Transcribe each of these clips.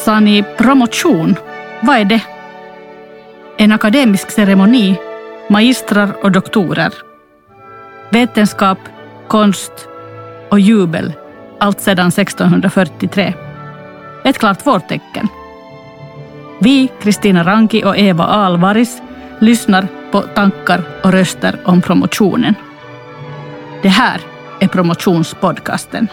Sa ni promotion? Vad är det? En akademisk ceremoni, magistrar och doktorer. Vetenskap, konst och jubel, allt sedan 1643. Ett klart vårtecken. Vi, Kristina Ranki och Eva Alvaris, lyssnar på tankar och röster om promotionen. Det här är promotionspodcasten.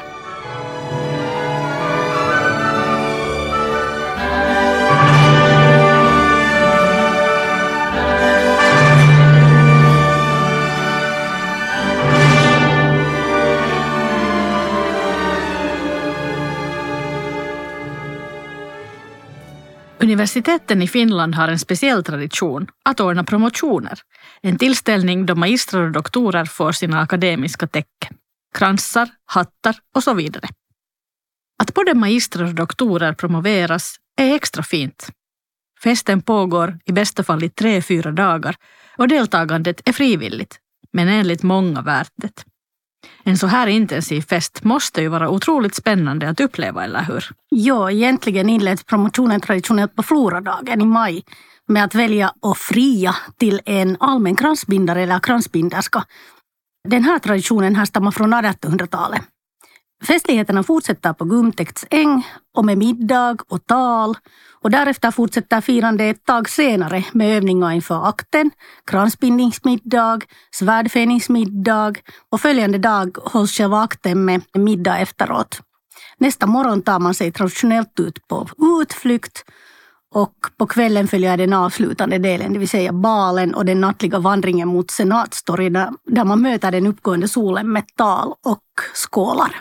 Universiteten i Finland har en speciell tradition att ordna promotioner. En tillställning då magistrar och doktorer får sina akademiska tecken. Kransar, hattar och så vidare. Att både magistrar och doktorer promoveras är extra fint. Festen pågår i bästa fall i 3-4 dagar och deltagandet är frivilligt, men enligt många värt det. En så här intensiv fest måste ju vara otroligt spännande att uppleva, eller hur? Ja, egentligen inleds promotionen traditionellt på Floradagen i maj med att välja och fria till en allmän kransbindare eller kransbinderska. Den här traditionen härstammar från 1800-talet. Festligheterna fortsätter på Gumtäkts äng och med middag och tal, och därefter fortsätter firande ett tag senare med övningar inför akten, kransbindningsmiddag, svärdfäningsmiddag och följande dag hålls själva akten med middag efteråt. Nästa morgon tar man sig traditionellt ut på utflykt och på kvällen följer den avslutande delen, det vill säga balen och den nattliga vandringen mot Senatstorget där man möter den uppgående solen med tal och skålar.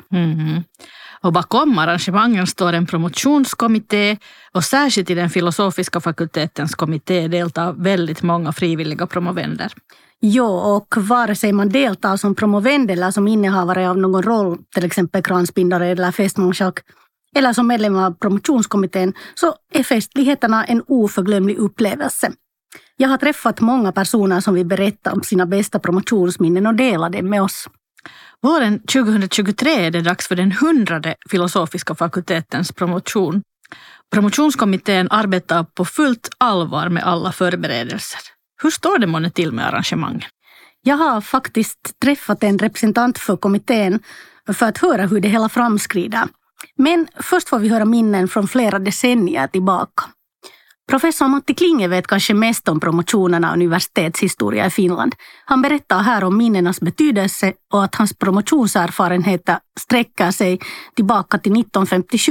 Och bakom arrangemangen står en promotionskommitté och särskilt i den filosofiska fakultetens kommitté deltar väldigt många frivilliga promovender. Ja, och vare sig man deltar som promovend eller som innehavare av någon roll, till exempel kransbindare eller festmålschack, eller som medlem av promotionskommittén, så är festligheterna en oförglömlig upplevelse. Jag har träffat många personer som vill berätta om sina bästa promotionsminnen och dela det med oss. Våren 2023 är det dags för den 100:e filosofiska fakultetens promotion. Promotionskommittén arbetar på fullt allvar med alla förberedelser. Hur står det månne till med arrangemangen? Jag har faktiskt träffat en representant för kommittén för att höra hur det hela framskrider. Men först får vi höra minnen från flera decennier tillbaka. Professor Matti Klinge vet kanske mest om promotionerna och universitetshistoria i Finland. Han berättar här om minnenas betydelse och att hans promotionserfarenheter sträcker sig tillbaka till 1957.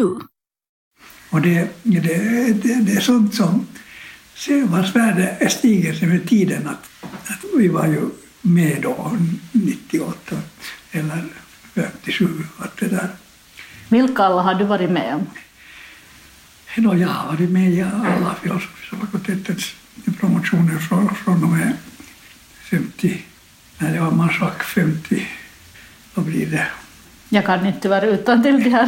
Och det är sånt som vars värde stiger sig med tiden. Att vi var ju med då 98 eller 57, allt det där. Vilka alla har du varit med om? Jag har varit med i alla filosofiska fakultetens promotioner från och med 50, när jag var marschack 50, vad blir det? Jag kan inte vara utan till det här.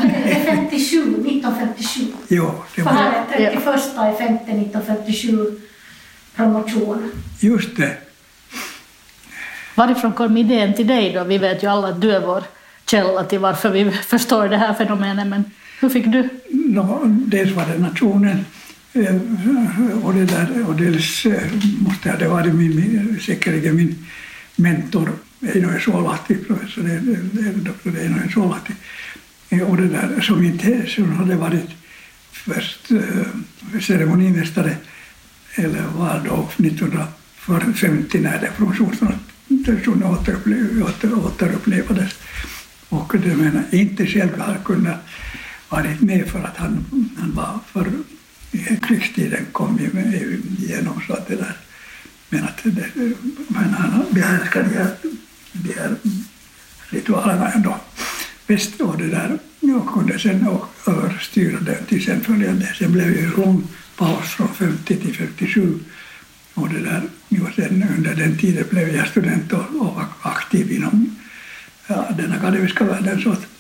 1957. Jo, det var det. 31/5/1957 promotion. Just det. Varifrån kom idén till dig då? Vi vet ju alla att du är vår källa till varför vi förstår det här fenomenet, men hur fick du? Dels var det nationen och det där, och dels måste det vara säkerligen min mentor Eino Suolahti, professor doktor Eino Suolahti, och det där som hade varit först ceremonimästare eller var då 1950 när det promotionen återupplevades. Och det menar inte själv har kunnat varit med för att han var för krigstiden kom igenom så att det där. Men han behärskade de här ritualerna ändå bäst och det där och kunde sen överstyra det till sen följande. Sen blev det en lång paus från 50 till 57 och det där. Och sen under den tiden blev jag student och var aktiv inom den akademiska världen så att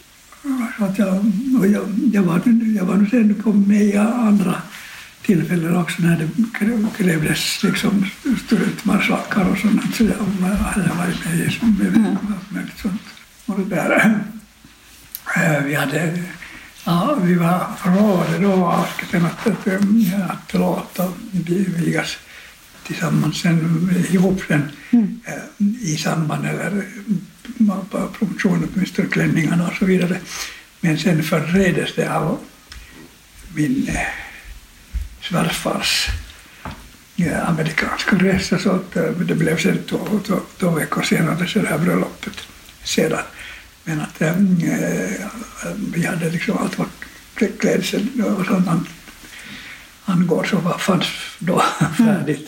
jag var nu sen kom med i andra tillfällen också när det krävdes liksom studentmarschackar och sånt, så jag hade varit med i sånt. Och det där, vi hade Ja, vi var förlovade då avskriften att låta vigas tillsammans sen ihop sen i samband eller på promotionen på Mr. Klänningarna och så vidare. Men sen förreddes det av min svärfars amerikanska resa så att det blev sen två veckor senare så det här bröllopet sedan. Men att vi hade liksom allt vad klädsel och sånt angår så fanns då färdigt.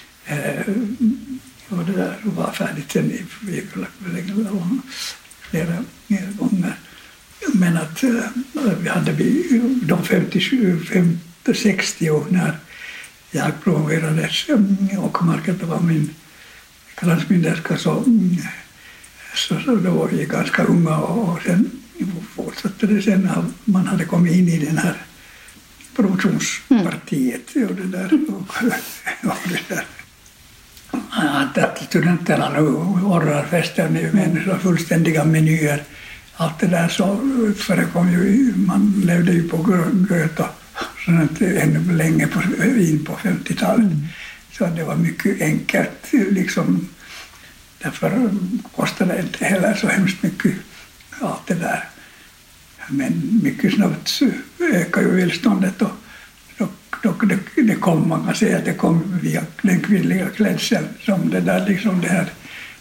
Och det där var färdigt sen i flera gånger. Men att vi hade de 50-60 när jag promoverades och Margareta var min kransbinderska så då var vi ganska unga och sen fortsatte det sen när man hade kommit in i den här promotionspartiet och det där. Att studenterna nu ordnar fester med så fullständiga menyer. Allt det där så förekom ju, man levde ju på Goethe sånt ännu länge in på 50-talet. Så det var mycket enkelt liksom. Därför kostade det inte heller så hemskt mycket allt det där. Men mycket snabbt ökar ju välståndet och det kom, man kan säga att det kom via den kvinnliga klädseln som det där liksom det här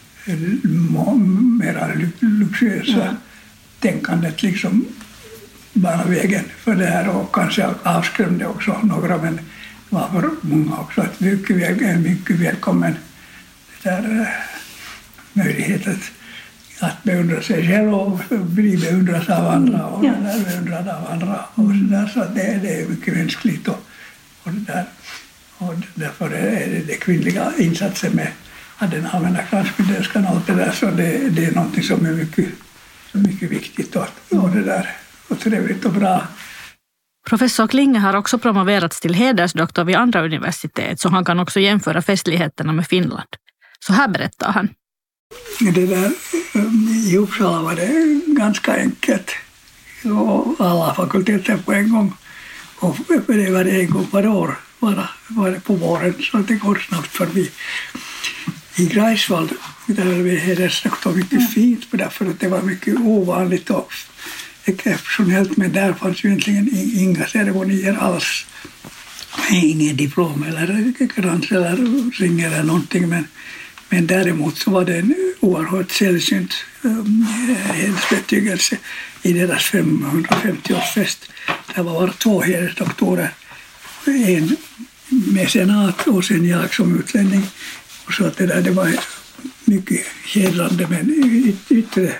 mera luxuösa tänkandet liksom bara vägen för det här och kanske avskrämde också några men var för många också att mycket välkommen det där möjlighet att beundra sig själv och bli beundrad av andra och beundrad av andra och så där så att det är mycket mänskligt och det där och därför är det kvinnliga insatsen med att den allmänna kransbinderskan och allt det där så det är någonting som är mycket viktigt och det där och trevligt och bra. Professor Klinge har också promoverats till hedersdoktor vid andra universitet så han kan också jämföra festligheterna med Finland. Så här berättar han. Det där, i Uppsala var det ganska enkelt och alla fakulteter på en gång och det var en gång per år var det på våren så det går snabbt förbi. I Greifswald där vi hedersdoktor mycket fint därför att det var mycket ovanligt och exceptionellt men där fanns ju egentligen inga ceremonier alls. Ingen diplom eller krans eller ring eller någonting men däremot så var det en oerhört sällsynt hedersbetygelse i deras 550-årsfest. Det var 2 hedersdoktorer, en mecenat och sen jag som utlänning. Och så att det var mycket hedrande men yttre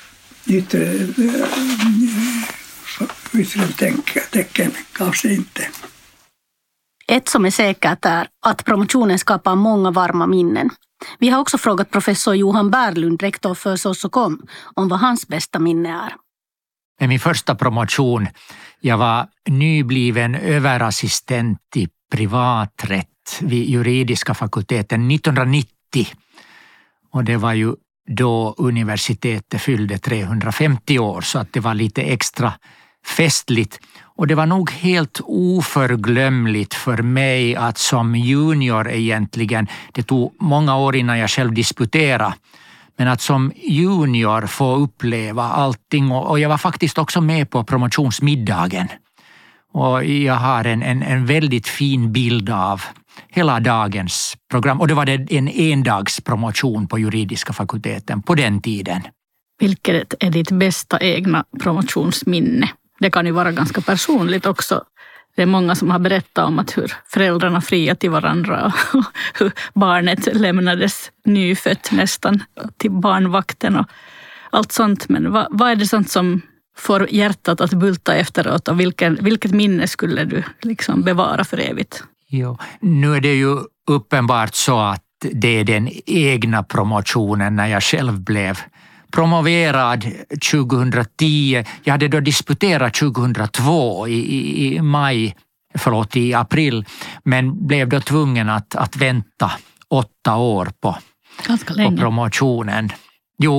tecken gav sig inte. Ett som är säkert är att promotionen skapar många varma minnen. Vi har också frågat professor Johan Berglund, rektor för SOS&COM, om vad hans bästa minne är. Med min första promotion, jag var nybliven överassistent i privaträtt vid juridiska fakulteten 1990. Och det var ju då universitetet fyllde 350 år så att det var lite extra festligt. Och det var nog helt oförglömligt för mig att som junior egentligen, det tog många år innan jag själv disputerade, men att som junior få uppleva allting och jag var faktiskt också med på promotionsmiddagen. Och jag har en väldigt fin bild av hela dagens program och det var en endagspromotion på juridiska fakulteten på den tiden. Vilket är ditt bästa egna promotionsminne? Det kan ju vara ganska personligt också. Det är många som har berättat om att hur föräldrarna friade till varandra och hur barnet lämnades nyfött nästan till barnvakten och allt sånt. Men vad är det sånt som får hjärtat att bulta efteråt och vilket minne skulle du liksom bevara för evigt? Jo, nu är det ju uppenbart så att det är den egna promotionen när jag själv blev promoverad 2010. Jag hade då disputerat 2002 i april, men blev då tvungen att vänta 8 år på promotionen. Jo,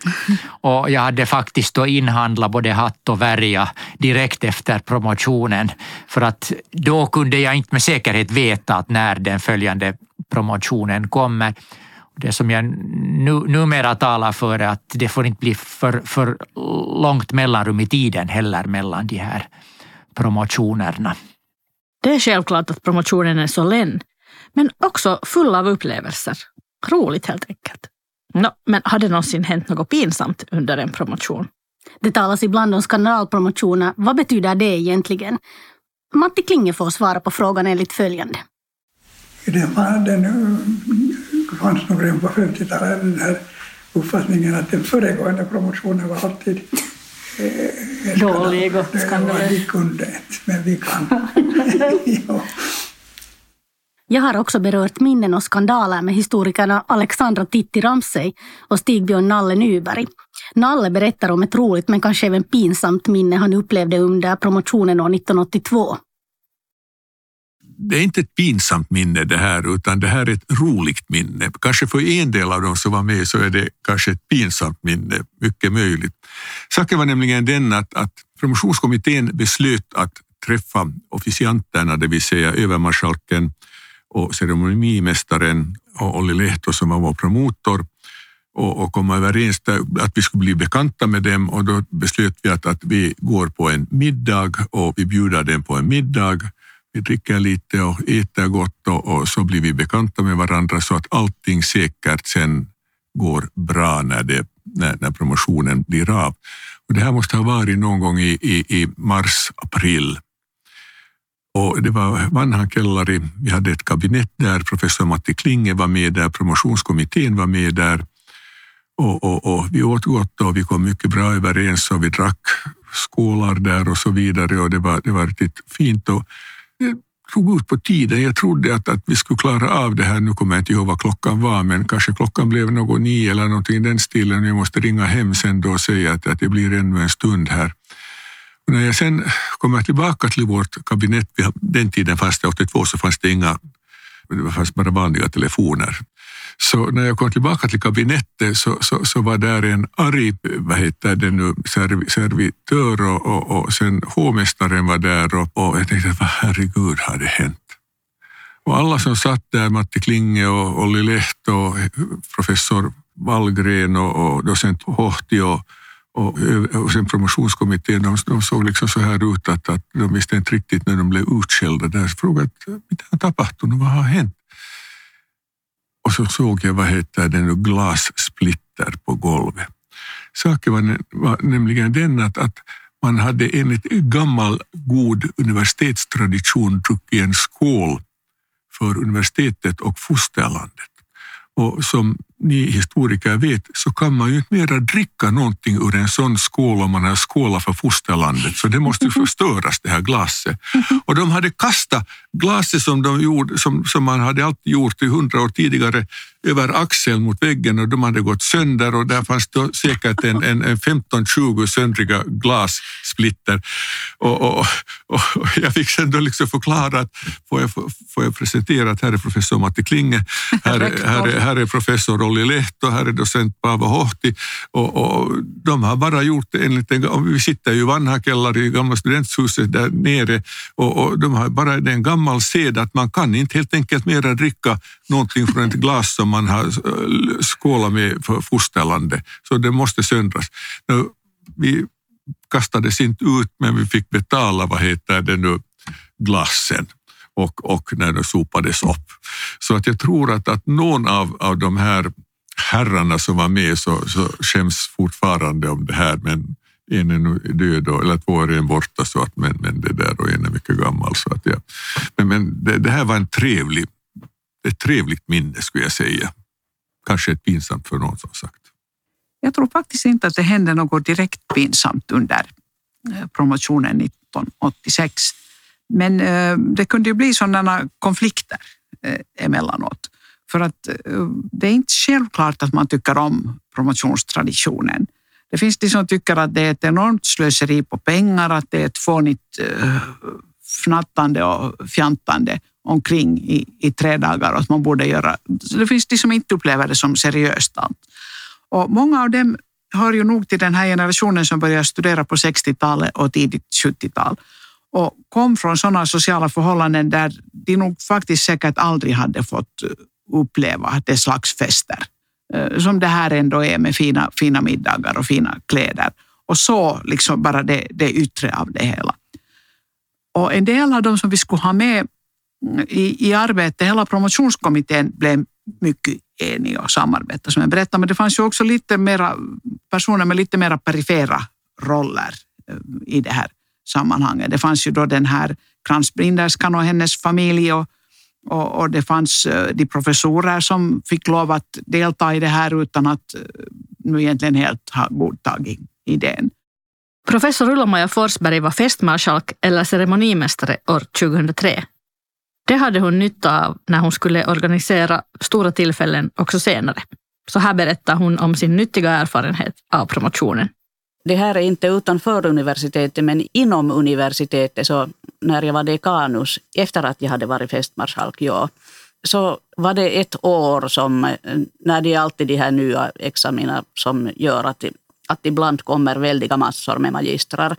Och jag hade faktiskt då inhandlat både hatt och värja direkt efter promotionen, för att då kunde jag inte med säkerhet veta att när den följande promotionen kommer. Det som jag numera talar för är att det får inte bli för långt mellanrum i tiden heller mellan de här promotionerna. Det är självklart att promotionen är solän, men också full av upplevelser. Roligt helt enkelt. Men har det någonsin hänt något pinsamt under en promotion? Det talas ibland om skandalpromotioner. Vad betyder det egentligen? Matti Klinge får svara på frågan enligt följande. Den fanns nog redan på 50-talet den här uppfattningen att den föregående promotionen var alltid dålig och skandalös. Vi kunde inte, men vi kan. Ja. Jag har också berört minnen och skandaler med historikerna Alexandra Titti Ramsey och Stigbjörn Nalle Nyberg. Nalle berättar om ett roligt men kanske även pinsamt minne han upplevde under promotionen år 1982. Det är inte ett pinsamt minne det här, utan det här är ett roligt minne. Kanske för en del av dem som var med så är det kanske ett pinsamt minne, mycket möjligt. Saken var nämligen den att promotionskommittén beslöt att träffa officianterna, det vill säga övermarskalken och ceremonimästaren och Olli Lehto som var vår promotor, och komma överens att vi skulle bli bekanta med dem, och då beslöt vi att vi går på en middag och vi bjuder dem på en middag. Vi dricker lite och äter gott och så blir vi bekanta med varandra så att allting säkert sen går bra när promotionen blir av. Och det här måste ha varit någon gång i mars-april. Och det var Vanhan Kellari, vi hade ett kabinett där, professor Matti Klinge var med där, promotionskommittén var med där. Och vi åt gott och vi kom mycket bra överens och vi drack skålar där och så vidare, och det var riktigt fint. Och det tog ut på tiden. Jag trodde att vi skulle klara av det här. Nu kommer jag inte ihåg vad klockan var, men kanske klockan blev något 9 eller någonting i den stilen. Jag måste ringa hem sen då och säga att det blir ännu en stund här. Och när jag sen kommer tillbaka till vårt kabinett, den tiden fanns det 82 så fanns det det fanns bara vanliga telefoner. Så när jag kom tillbaka till kabinettet så var där en arg, servitör och sen hovmästaren var där och jag tänkte, vad herregud har det hänt? Och alla som satt där, Matti Klinge och Olli Lehto och professor Wallgren och docent Hohti och sen promotionskommittén, de såg liksom så här ut att de visste inte riktigt när de blev utskällda där. Så frågade mitä on tapahtunut, vad har hänt? Och så såg jag den glassplitter på golvet. Saken var nämligen den att man hade enligt gammal god universitetstradition druckit en skål för universitetet och fosterlandet. Och som ni historiker vet så kan man ju inte mera dricka någonting ur en sån skål om man har skålat för fosterlandet. Så det måste förstöras, det här glaset. Och de hade kastat glaset som de gjorde, som man hade alltid gjort i 100 år tidigare, över axeln mot väggen, och de hade gått sönder, och där fanns då säkert en 15-20 söndriga glassplitter. Och jag fick sen då liksom förklara att får jag presentera att här är professor Matti Klinge, här är professor Olli Lehto, här är docent Paavo Hohti, och de har bara gjort det enligt vi sitter ju i Vanhan Kellari i gamla studenthuset där nere, och de har bara en gammal sed att man kan inte helt enkelt mera dricka någonting från ett glas som man har skålat med för fosterlandet, så det måste söndras. Vi kastades inte ut, men vi fick betala glassen och när det sopades upp. Så att jag tror att någon av de här herrarna som var med så skäms fortfarande om det här, men en är nu död eller 2 är borta, så att men det där, och en är mycket gammal, så att men det här var ett trevligt minne, skulle jag säga. Kanske ett pinsamt för någon, som sagt. Jag tror faktiskt inte att det hände något direkt pinsamt under promotionen 1986. Men det kunde ju bli sådana konflikter emellanåt. För att det är inte självklart att man tycker om promotionstraditionen. Det finns de som tycker att det är ett enormt slöseri på pengar, att det är ett fånigt fnattande och fjantande omkring i 3 dagar, och att man borde göra. Det finns de som inte upplever det som seriöst allt. Och många av dem hör ju nog till den här generationen som började studera på 60-talet och tidigt 70-tal. Och kom från sådana sociala förhållanden där de nog faktiskt säkert aldrig hade fått uppleva det slags fester. Som det här ändå är med fina middagar och fina kläder. Och så liksom bara det yttre av det hela. Och en del av dem som vi skulle ha med i arbetet, hela promotionskommittén blev mycket enig och samarbeta som jag berättade. Men det fanns ju också lite mera personer med lite mera perifera roller i det här sammanhanget. Det fanns ju då den här kransbrinderskan och hennes familj och det fanns de professorer som fick lov att delta i det här utan att nu egentligen helt ha godtagit idén. Professor Ulla-Maja Forsberg var festmarskalk eller ceremonimästare år 2003. Det hade hon nytta av när hon skulle organisera stora tillfällen också senare. Så här berättar hon om sin nyttiga erfarenhet av promotionen. Det här är inte utanför universitetet men inom universitetet, så när jag var dekanus, efter att jag hade varit festmarskalk, så var det ett år som, när det är alltid de här nya examina som gör att ibland kommer väldiga massor med magistrar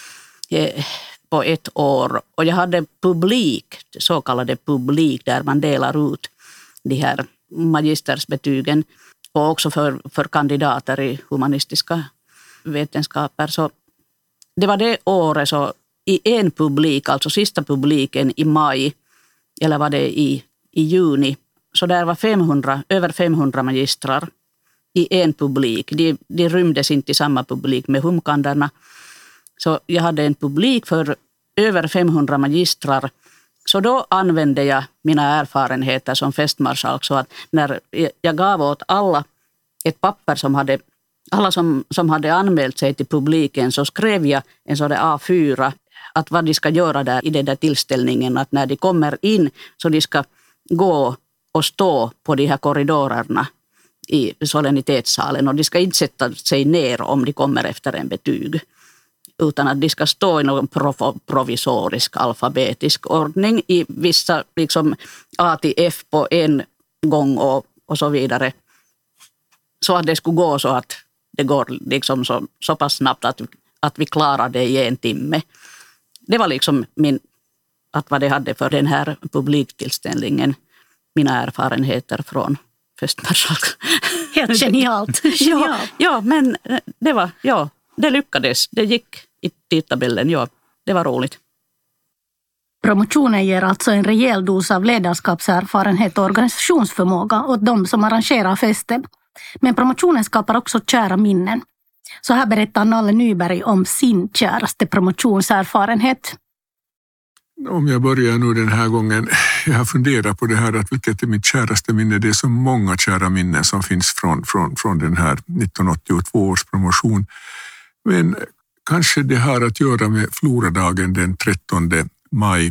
på ett år. Och jag hade publik, så kallade publik, där man delar ut de här magistersbetygen och också för kandidater i humanistiska vetenskaper. Så det var det året, så i en publik, alltså sista publiken i maj, eller var det i juni, så där var över 500 magistrar i en publik. De rymdes inte i samma publik med humkanderna. Så jag hade en publik för över 500 magistrar. Så då använde jag mina erfarenheter som festmarskalk, så att när jag gav åt alla ett papper som hade, alla som hade anmält sig till publiken, så skrev jag en sån där A4 att vad de ska göra där i den där tillställningen, att när de kommer in så de ska gå och stå på de här korridorerna i solennitetssalen, och de ska inte sätta sig ner om de kommer efter en betyg, utan att de ska stå i någon provisorisk alfabetisk ordning i vissa liksom A till F på en gång och så vidare. Så att det skulle gå så att det går liksom så pass snabbt att vi klarar det i en timme. Det var liksom vad det hade för den här publiktillställningen, mina erfarenheter från festmarskalk. Helt genialt. Ja, men det lyckades. Det gick i tidtabellen. Det var roligt. Promotionen ger alltså en rejäl dos av ledarskapserfarenhet och organisationsförmåga åt de som arrangerar festen. Men promotionen skapar också kära minnen. Så här berättar Nalle Nyberg om sin käraste promotionserfarenhet. Om jag börjar nu den här gången, jag har funderat på det här, att vilket är mitt käraste minne. Det är så många kära minnen som finns från den här 1982 års promotion. Men kanske det har att göra med Floradagen den 13 maj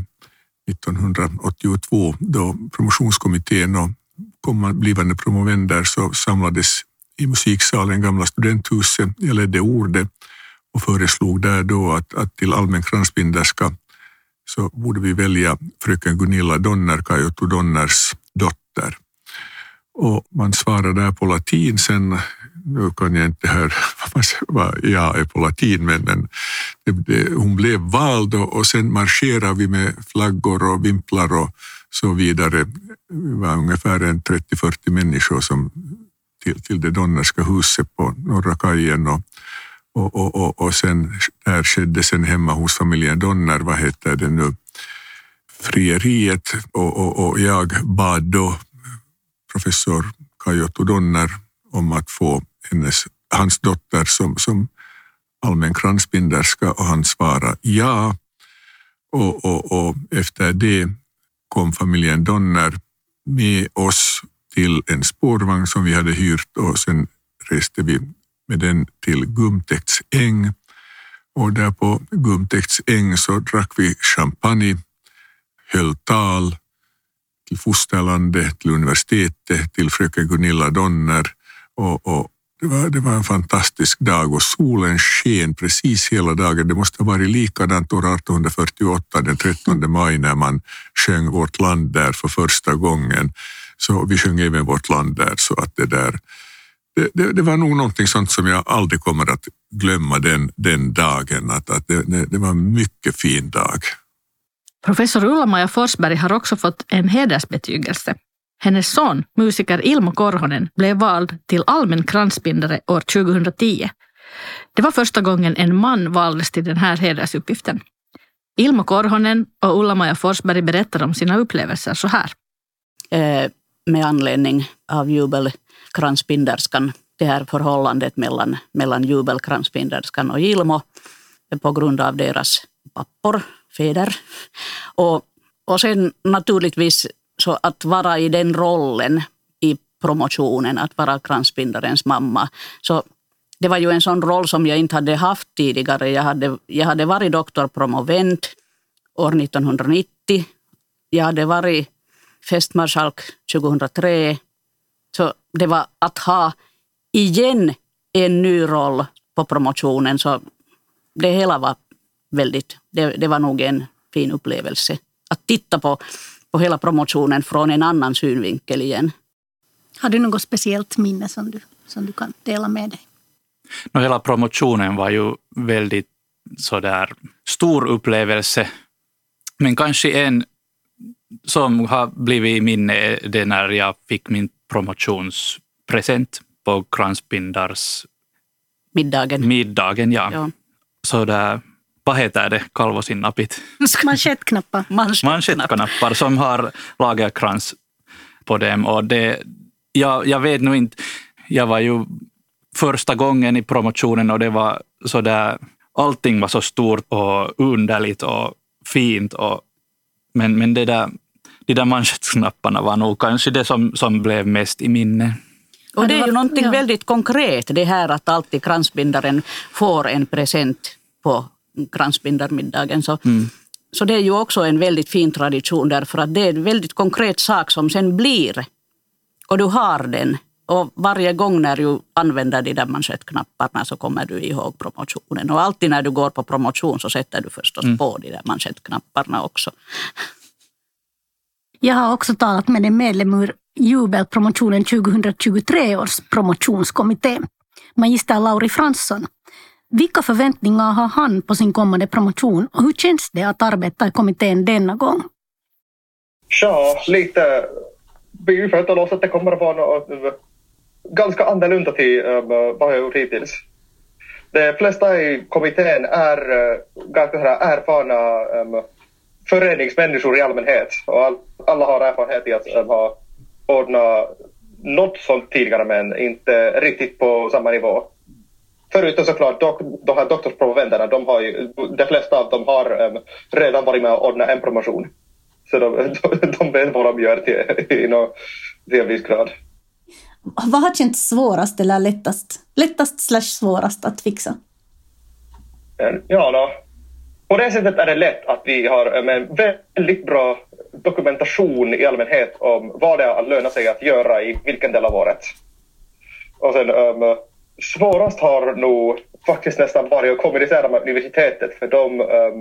1982, då promotionskommittén och blivande promovender så samlades i musiksalen, gamla studenthuset. Jag ledde ordet och föreslog där då att till allmän kransbinderska så borde vi välja fröken Gunilla Donner, Kai Otto Donners dotter. Och man svarade där på latin. Sen, nu kan jag inte höra vad jag är på latin, men hon blev vald och sen marscherade vi med flaggor och vimplar och så vidare. Det var ungefär 30-40 människor som till det Donnerska huset på Norra kajen och sen där skedde sen hemma hos familjen Donner, vad heter det nu, frieriet, och jag bad då professor Kai Otto Donner om att få hans dotter som allmän kransbinderska, och han svarade ja, och efter det kom familjen Donner med oss till en spårvagn som vi hade hyrt, och sen reste vi med den till Gumtäkts äng, och där på Gumtäkts äng så drack vi champagne, höll tal till fosterlandet, till universitetet, till fröken Gunilla Donner, och det var en fantastisk dag och solen sken precis hela dagen. Det måste ha varit likadant år 1848 den 13 maj när man sjöng Vårt land där för första gången. Så vi sjöng även Vårt land där, så att Det var nog någonting sånt som jag aldrig kommer att glömma den dagen. Att det var en mycket fin dag. Professor Ulla-Maja Forsberg har också fått en hedersbetygelse. Hennes son, musiker Ilmo Korhonen, blev vald till allmän kransbindare år 2010. Det var första gången en man valdes till den här hedersuppgiften. Ilmo Korhonen och Ulla-Maja Forsberg berättar om sina upplevelser så här. Med anledning av jubelkransbinderskan, det här förhållandet mellan jubelkransbinderskan och Ilmo på grund av deras pappor, fäder. Och sen naturligtvis så att vara i den rollen i promotionen, att vara kransbindarens mamma. Så det var ju en sån roll som jag inte hade haft tidigare. Jag hade varit doktorpromovent år 1990. Jag hade varit festmarskalk 2003. Så det var att ha igen en ny roll på promotionen. Så det hela var det var nog en fin upplevelse. Att titta på hela promotionen från en annan synvinkel igen. Har du något speciellt minne som du kan dela med dig? Hela promotionen var ju väldigt sådär stor upplevelse. Men kanske en som har blivit i minne det när jag fick min promotionspresent på kransbindars middagen, ja. Så där, vad heter det? Kalvosinnapit. Manschettknappar som har lagerkrans på dem. Och jag vet nog inte, jag var ju första gången i promotionen och det var så där, allting var så stort och underligt och fint. Men de där manschettknapparna var nog kanske det som blev mest i minne. Och det är ju någonting väldigt konkret, det här att alltid kransbindaren får en present på kransbindarmiddagen. Så det är ju också en väldigt fin tradition därför att det är en väldigt konkret sak som sen blir. Och du har den. Och varje gång när du använder de där manschettknapparna så kommer du ihåg promotionen. Och alltid när du går på promotion så sätter du förstås på de där manschettknapparna också. Jag har också talat med en medlem ur jubelpromotionen 2023 års promotionskommitté, magister Lauri Fransson. Vilka förväntningar har han på sin kommande promotion och hur känns det att arbeta i kommittén denna gång? Ja, lite. Vi förväntar oss att det kommer att vara något ganska annorlunda till vad jag gjort hittills. De flesta i kommittén är ganska erfarna föreningsmänniskor i allmänhet. Och alla har erfarenhet i att ha ordnat något sånt tidigare men inte riktigt på samma nivå. Förutom såklart de här doktorspromoventerna, de flesta av dem har redan varit med och ordnat en promotion. Så de vet vad de gör till en viss grad. Vad har känts svårast eller lättast/svårast att fixa? Ja, på det sättet är det lätt att vi har en väldigt bra dokumentation i allmänhet om vad det är att löna sig att göra i vilken del av året. Och sen svårast har nog faktiskt nästan varit att kommunicera med universitetet för de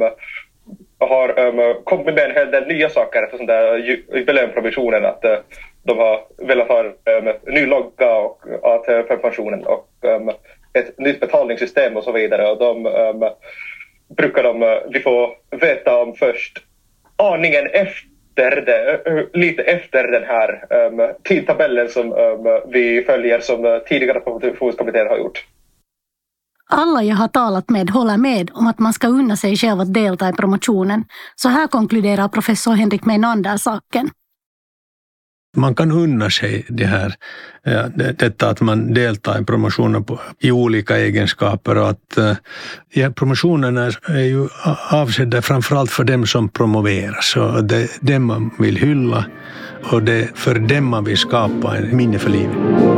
har kommit med en hel del nya saker för sån där jubileumprovisionen att de har velat ha ny logga och ATP-pensionen och ett nytt betalningssystem och så vidare och de brukar vi få veta om först aningen lite efter den här tidtabellen som vi följer som tidigare promotionskommittén har gjort. Alla jag har talat med håller med om att man ska unna sig själv att delta i promotionen. Så här konkluderar professor Henrik Meinander saken. Man kan unna sig detta att man deltar i promotionen i olika egenskaper och att promotionen är ju avsedda framförallt för dem som promoveras och det är dem man vill hylla och det är för dem man vill skapa en minne för livet.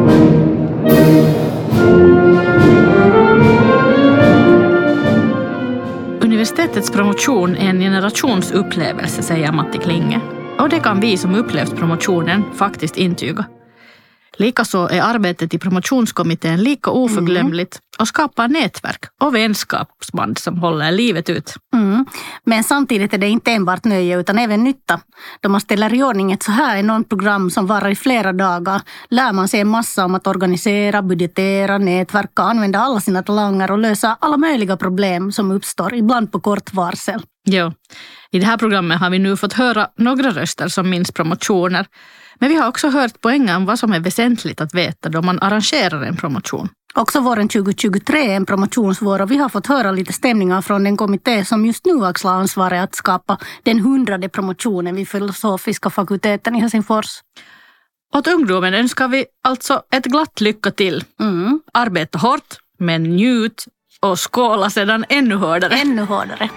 Universitetets promotion är en generationsupplevelse, säger Matti Klinge. Och det kan vi som upplevt promotionen faktiskt intyga. Likaså är arbetet i promotionskommittén lika oförglömligt och skapar nätverk och vänskapsband som håller livet ut. Men samtidigt är det inte enbart nöje utan även nytta. Då man ställer i ordning ett så här enormt program som varar i flera dagar lär man sig en massa om att organisera, budgetera, nätverka, använda alla sina talanger och lösa alla möjliga problem som uppstår, ibland på kort varsel. Jo, i det här programmet har vi nu fått höra några röster som minns promotioner. Men vi har också hört poängen om vad som är väsentligt att veta då man arrangerar en promotion. Också våren 2023 är en promotionsvår och vi har fått höra lite stämningar från den kommitté som just nu axlar ansvaret att skapa den 100:e promotionen vid filosofiska fakulteten i Helsingfors. Åt ungdomen önskar vi alltså ett glatt lycka till. Arbeta hårt, men njut och skåla sedan ännu hårdare. Ännu hårdare.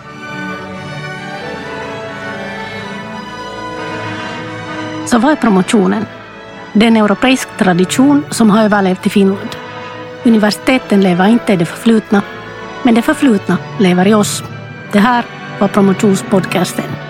Så vad är promotionen? Det är en europeisk tradition som har överlevt i Finland. Universiteten lever inte i det förflutna, men det förflutna lever i oss. Det här var promotionspodcasten.